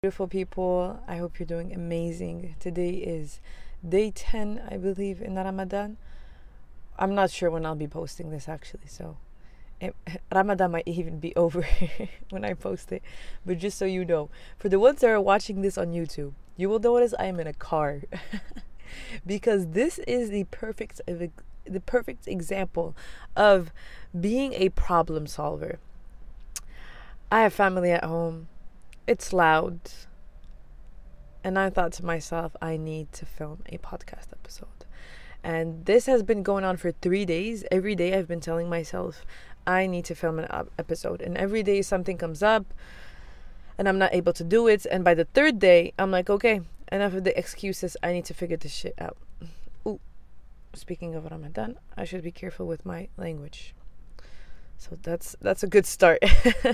Beautiful people, I hope you're doing amazing. Today is day 10, I believe, in Ramadan. I'm not sure when I'll be posting this actually, so Ramadan might even be over when I post it. But just so you know, for the ones that are watching this on YouTube, you will notice I am in a car because this is the perfect example of being a problem solver. I have family at home. It's loud. And I thought to myself, I need to film a podcast episode. And this has been going on for 3 days. Every day I've been telling myself, I need to film an episode. And every day something comes up and I'm not able to do it. And by the third day, I'm like, okay, enough of the excuses. I need to figure this shit out. Ooh, speaking of Ramadan, I should be careful with my language. So that's a good start.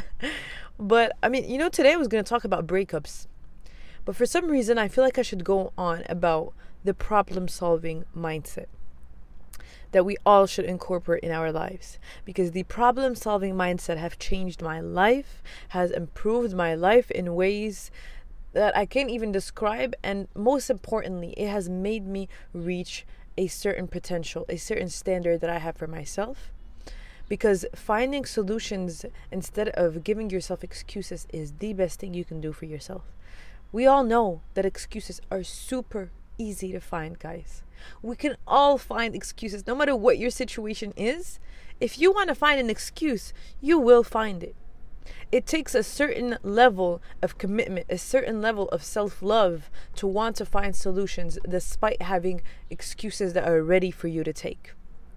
But I mean, today I was going to talk about breakups. But for some reason, I feel like I should go on about the problem-solving mindset that we all should incorporate in our lives. Because the problem-solving mindset have changed my life, has improved my life in ways that I can't even describe. And most importantly, it has made me reach a certain potential, a certain standard that I have for myself. Because finding solutions instead of giving yourself excuses is the best thing you can do for yourself. We all know that excuses are super easy to find, guys. We can all find excuses, no matter what your situation is. If you want to find an excuse, you will find it. It takes a certain level of commitment, a certain level of self-love to want to find solutions despite having excuses that are ready for you to take.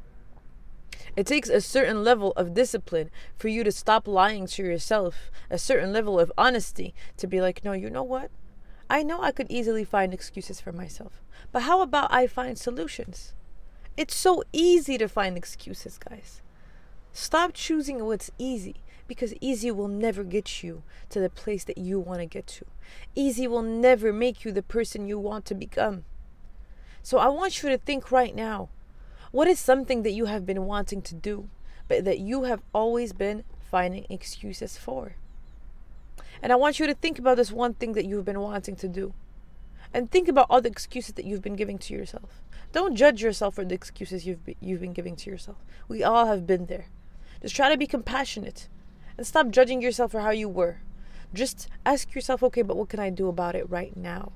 It takes a certain level of discipline for you to stop lying to yourself, a certain level of honesty to be like, no, you know what? I know I could easily find excuses for myself, but how about I find solutions? It's so easy to find excuses, guys. Stop choosing what's easy, because easy will never get you to the place that you want to get to. Easy will never make you the person you want to become. So I want you to think right now. What is something that you have been wanting to do, but that you have always been finding excuses for? And I want you to think about this one thing that you've been wanting to do. And think about all the excuses that you've been giving to yourself. Don't judge yourself for the excuses you've been giving to yourself. We all have been there. Just try to be compassionate. And stop judging yourself for how you were. Just ask yourself, okay, but what can I do about it right now?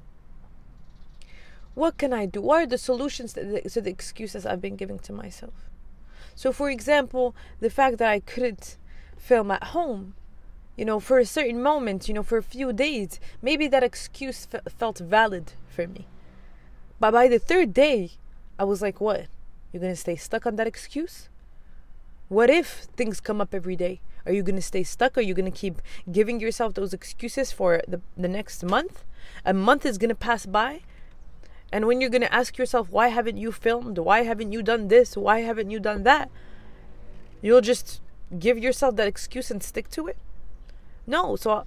What can I do? What are the solutions to the excuses I've been giving to myself? So, for example, the fact that I couldn't film at home, for a certain moment, for a few days, maybe that excuse felt valid for me. But by the third day, I was like, what? You're going to stay stuck on that excuse? What if things come up every day? Are you going to stay stuck? Are you going to keep giving yourself those excuses for the next month? A month is going to pass by. And when you're going to ask yourself, why haven't you filmed? Why haven't you done this? Why haven't you done that? You'll just give yourself that excuse and stick to it? No. So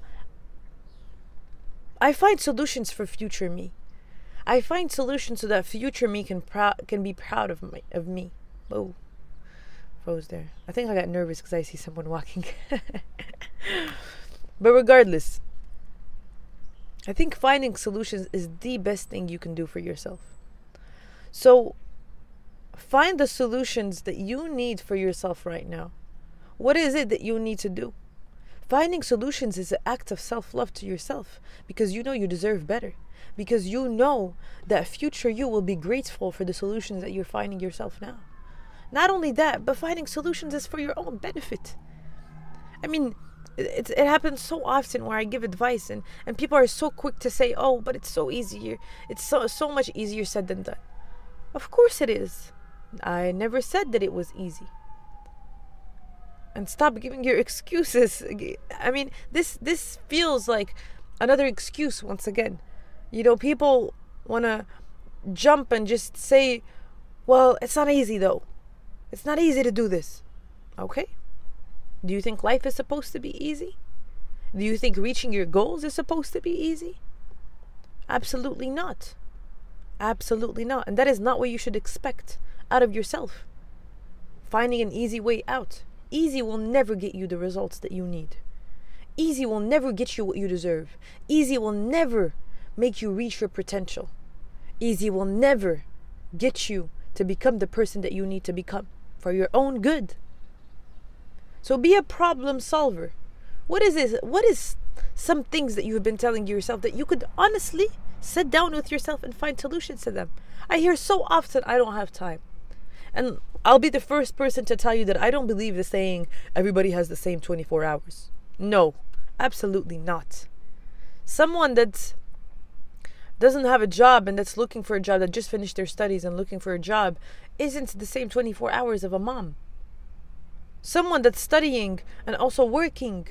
I find solutions for future me. I find solutions so that future me can be proud of me. Oh, froze there. I think I got nervous because I see someone walking. But regardless, I think finding solutions is the best thing you can do for yourself. So find the solutions that you need for yourself right now. What is it that you need to do? Finding solutions is an act of self-love to yourself, because you know you deserve better. Because you know that future you will be grateful for the solutions that you're finding yourself now. Not only that, but finding solutions is for your own benefit. I mean, it happens so often where I give advice and people are so quick to say, oh, but it's so easier. It's so much easier said than done. Of course it is. I never said that it was easy. And stop giving your excuses. I mean, this feels like another excuse once again. People want to jump and just say, well, it's not easy though. It's not easy to do this. Okay. Do you think life is supposed to be easy? Do you think reaching your goals is supposed to be easy? Absolutely not. Absolutely not. And that is not what you should expect out of yourself. Finding an easy way out. Easy will never get you the results that you need. Easy will never get you what you deserve. Easy will never make you reach your potential. Easy will never get you to become the person that you need to become for your own good. So be a problem solver. What is this? What is some things that you have been telling yourself that you could honestly sit down with yourself and find solutions to them? I hear so often, I don't have time. And I'll be the first person to tell you that I don't believe the saying, everybody has the same 24 hours. No, absolutely not. Someone that doesn't have a job and that's looking for a job, that just finished their studies and looking for a job, isn't the same 24 hours of a mom. Someone that's studying and also working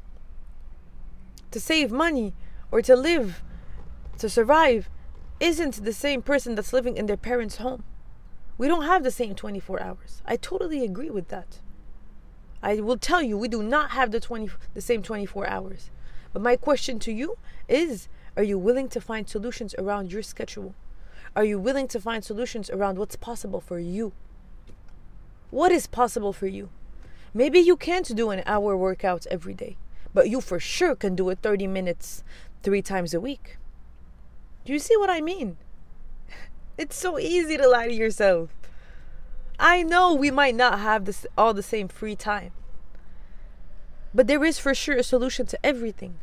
to save money or to live, to survive, isn't the same person that's living in their parents' home. We don't have the same 24 hours. I totally agree with that. I will tell you, we do not have the same 24 hours. But my question to you is, are you willing to find solutions around your schedule? Are you willing to find solutions around what's possible for you? What is possible for you? Maybe you can't do an hour workout every day, but you for sure can do it 30 minutes 3 times a week. Do you see what I mean? It's so easy to lie to yourself. I know we might not have all the same free time, but there is for sure a solution to everything.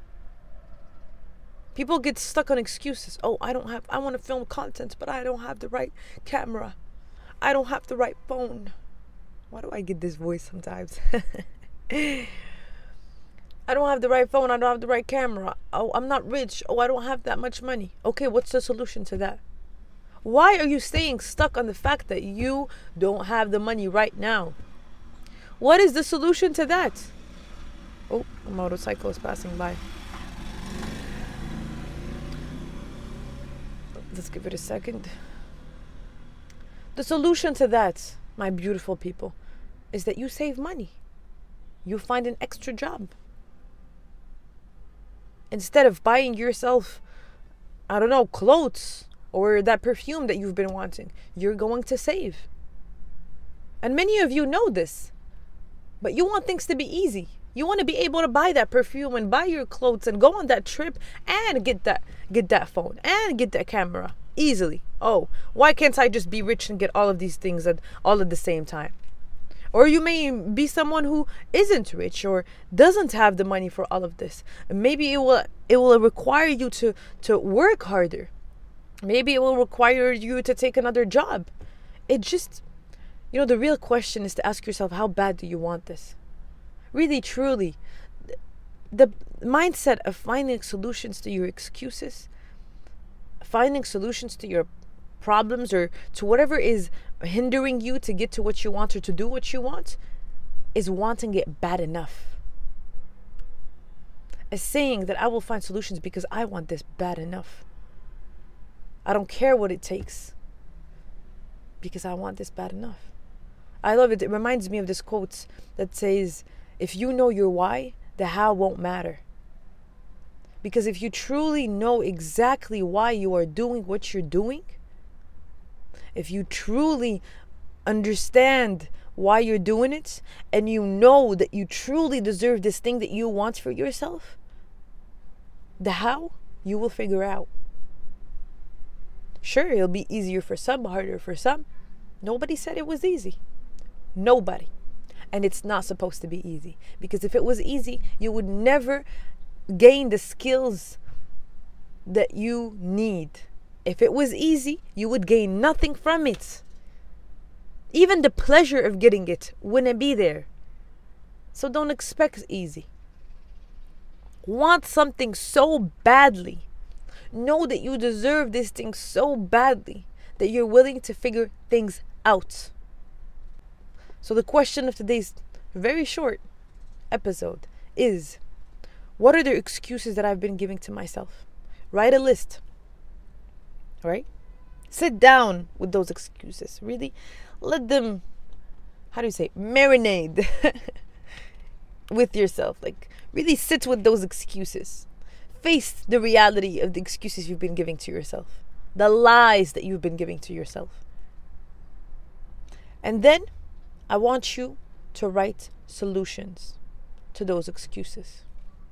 People get stuck on excuses. Oh, I want to film content, but I don't have the right camera. I don't have the right phone. Why do I get this voice sometimes? I don't have the right phone. I don't have the right camera. Oh, I'm not rich. Oh, I don't have that much money. Okay, what's the solution to that? Why are you staying stuck on the fact that you don't have the money right now? What is the solution to that? Oh, a motorcycle is passing by. Let's give it a second. The solution to that, my beautiful people, is that you save money. You find an extra job. Instead of buying yourself, I don't know, clothes or that perfume that you've been wanting, you're going to save. And many of you know this, but you want things to be easy. You want to be able to buy that perfume and buy your clothes and go on that trip and get that phone and get that camera easily. Oh, why can't I just be rich and get all of these things all at the same time? Or you may be someone who isn't rich or doesn't have the money for all of this. Maybe it will require you to work harder. Maybe it will require you to take another job. It just, the real question is to ask yourself, how bad do you want this? Really, truly, the mindset of finding solutions to your excuses, finding solutions to your problems or to whatever is hindering you to get to what you want or to do what you want, is wanting it bad enough. Is saying that I will find solutions because I want this bad enough. I don't care what it takes because I want this bad enough. I love it. It reminds me of this quote that says, if you know your why, the how won't matter. Because if you truly know exactly why you are doing what you're doing, if you truly understand why you're doing it, and you know that you truly deserve this thing that you want for yourself, the how you will figure out. Sure, it'll be easier for some, harder for some. Nobody said it was easy. Nobody. And it's not supposed to be easy. Because if it was easy, you would never gain the skills that you need. If it was easy, you would gain nothing from it. Even the pleasure of getting it wouldn't be there. So don't expect easy. Want something so badly. Know that you deserve this thing so badly that you're willing to figure things out. So the question of today's very short episode is, what are the excuses that I've been giving to myself? Write a list. All right? Sit down with those excuses. Really let them, marinate with yourself. Like, really sit with those excuses. Face the reality of the excuses you've been giving to yourself. The lies that you've been giving to yourself. And then I want you to write solutions to those excuses.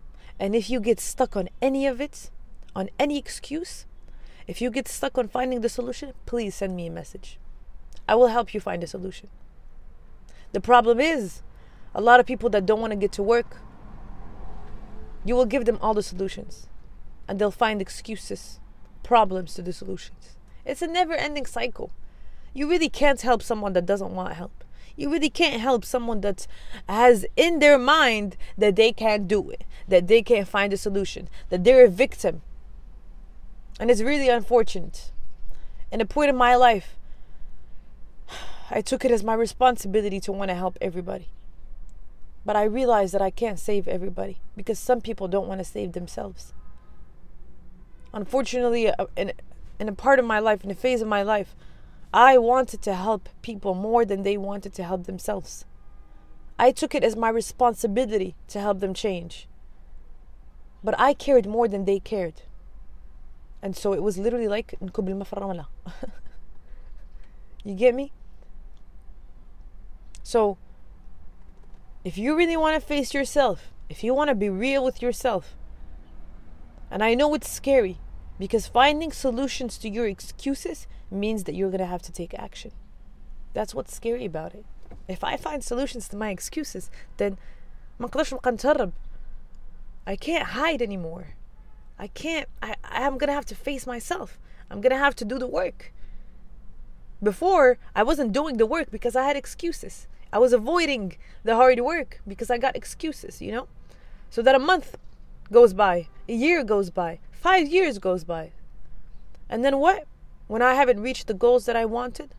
And if you get stuck on any of it, on any excuse, if you get stuck on finding the solution, please send me a message. I will help you find a solution. The problem is, a lot of people that don't want to get to work, you will give them all the solutions and they'll find excuses, problems to the solutions. It's a never-ending cycle. You really can't help someone that doesn't want help. You really can't help someone that has in their mind that they can't do it, that they can't find a solution, that they're a victim. And it's really unfortunate. In a point in my life, I took it as my responsibility to want to help everybody. But I realized that I can't save everybody because some people don't want to save themselves. Unfortunately, in a part of my life, in a phase of my life, I wanted to help people more than they wanted to help themselves. I took it as my responsibility to help them change. But I cared more than they cared. And so it was literally like you get me? So if you really want to face yourself, if you want to be real with yourself, and I know it's scary because finding solutions to your excuses means that you're going to have to take action. That's what's scary about it. If I find solutions to my excuses, then I can't hide anymore. I'm going to have to face myself. I'm going to have to do the work. Before, I wasn't doing the work because I had excuses. I was avoiding the hard work because I got excuses, you know? So that a month goes by, a year goes by, 5 years goes by. And then what? When I haven't reached the goals that I wanted,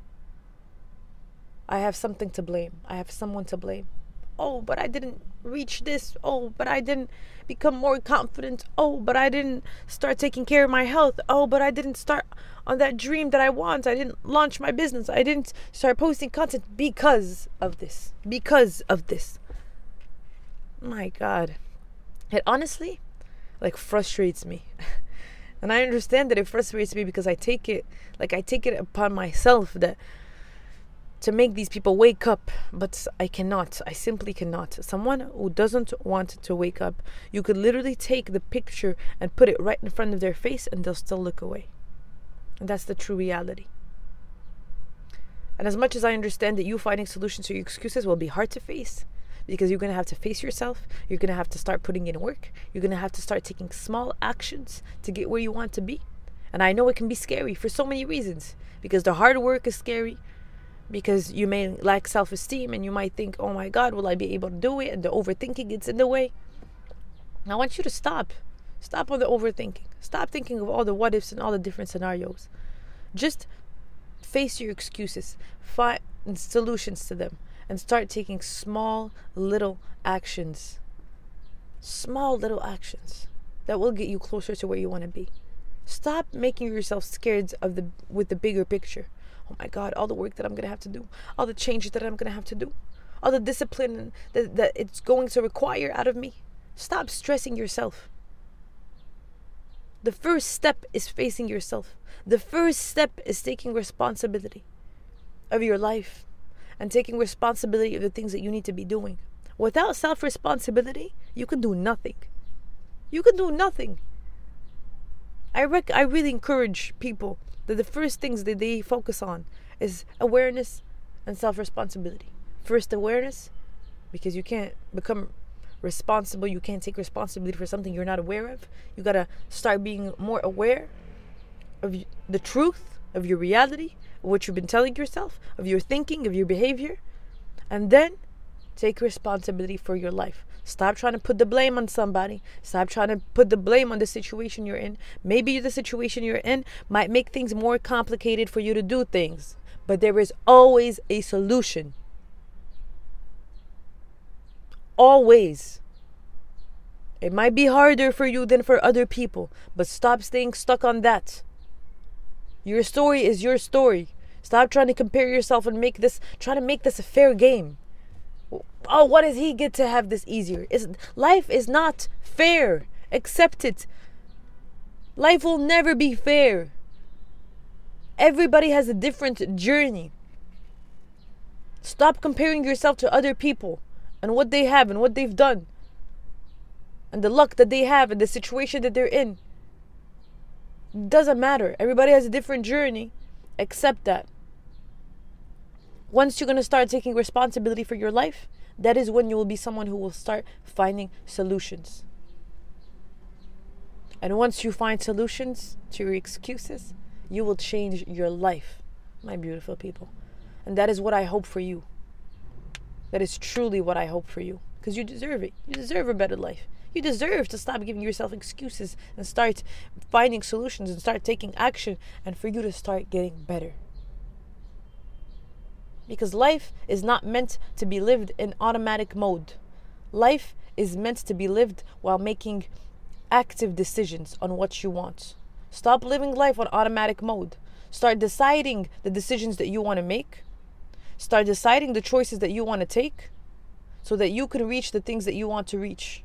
I have something to blame. I have someone to blame. Oh, but I didn't reach this. Oh, but I didn't become more confident. Oh, but I didn't start taking care of my health. Oh, but I didn't start on that dream that I want. I didn't launch my business. I didn't start posting content because of this. Because of this. My God. It honestly, frustrates me. And I understand that it frustrates me because I take it upon myself that to make these people wake up, but I cannot. I simply cannot. Someone who doesn't want to wake up, you could literally take the picture and put it right in front of their face and they'll still look away. And that's the true reality. And as much as I understand that you finding solutions to your excuses will be hard to face, because you're going to have to face yourself, you're going to have to start putting in work, you're going to have to start taking small actions to get where you want to be. And I know it can be scary for so many reasons, because the hard work is scary, because you may lack self-esteem and you might think, oh my God, will I be able to do it? And the overthinking gets in the way. I want you to stop on the overthinking. Stop thinking of all the what ifs and all the different scenarios. Just face your excuses, find solutions to them, and start taking small little actions. Small little actions that will get you closer to where you want to be. Stop making yourself scared with the bigger picture. Oh my God, all the work that I'm going to have to do, all the changes that I'm going to have to do, all the discipline that it's going to require out of me. Stop stressing yourself. The first step is facing yourself. The first step is taking responsibility of your life and taking responsibility of the things that you need to be doing. Without self-responsibility, you can do nothing. You can do nothing. I really encourage people that the first things that they focus on is awareness and self-responsibility. First, awareness, because you can't become responsible. You can't take responsibility for something you're not aware of. You got to start being more aware of the truth, of your reality, of what you've been telling yourself, of your thinking, of your behavior. And then take responsibility for your life. Stop trying to put the blame on somebody. Stop trying to put the blame on the situation you're in. Maybe the situation you're in might make things more complicated for you to do things, but there is always a solution. Always. It might be harder for you than for other people, but stop staying stuck on that. Your story is your story. Stop trying to compare yourself and try to make this a fair game. Oh, what does he get to have this easier? Life is not fair. Accept it. Life will never be fair. Everybody has a different journey. Stop comparing yourself to other people and what they have and what they've done. and the luck that they have and the situation that they're in. Doesn't matter. Everybody has a different journey. Accept that. Once you're going to start taking responsibility for your life, that is when you will be someone who will start finding solutions. And once you find solutions to your excuses, you will change your life, my beautiful people. And that is what I hope for you. That is truly what I hope for you. Because you deserve it. You deserve a better life. You deserve to stop giving yourself excuses and start finding solutions and start taking action, and for you to start getting better. Because life is not meant to be lived in automatic mode. Life is meant to be lived while making active decisions on what you want. Stop living life on automatic mode. Start deciding the decisions that you want to make. Start deciding the choices that you want to take so that you can reach the things that you want to reach.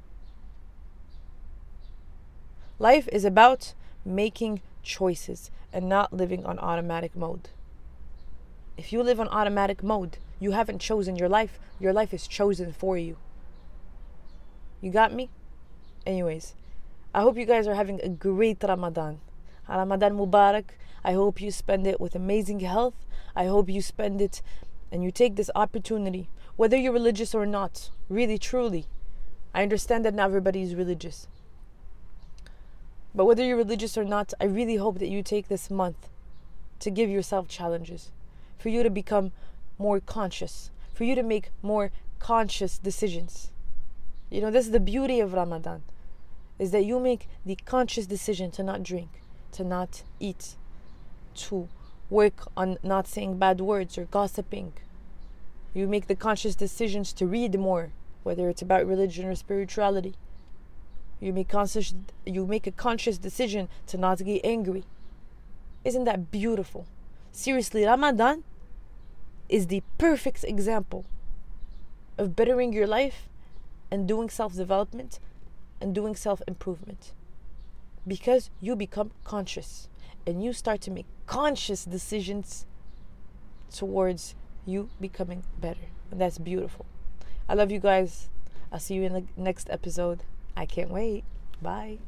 Life is about making choices and not living on automatic mode. If you live on automatic mode, you haven't chosen your life. Your life is chosen for you. You got me? Anyways, I hope you guys are having a great Ramadan. Ramadan Mubarak. I hope you spend it with amazing health. I hope you spend it and you take this opportunity, whether you're religious or not, really, truly. I understand that not everybody is religious. But whether you're religious or not, I really hope that you take this month to give yourself challenges, for you to become more conscious, for you to make more conscious decisions. You know, this is the beauty of Ramadan, is that you make the conscious decision to not drink, to not eat, to work on not saying bad words or gossiping. You make the conscious decisions to read more, whether it's about religion or spirituality. You make a conscious decision to not get angry. Isn't that beautiful? Seriously, Ramadan is the perfect example of bettering your life and doing self-development and doing self-improvement. Because you become conscious and you start to make conscious decisions towards you becoming better. And that's beautiful. I love you guys. I'll see you in the next episode. I can't wait. Bye.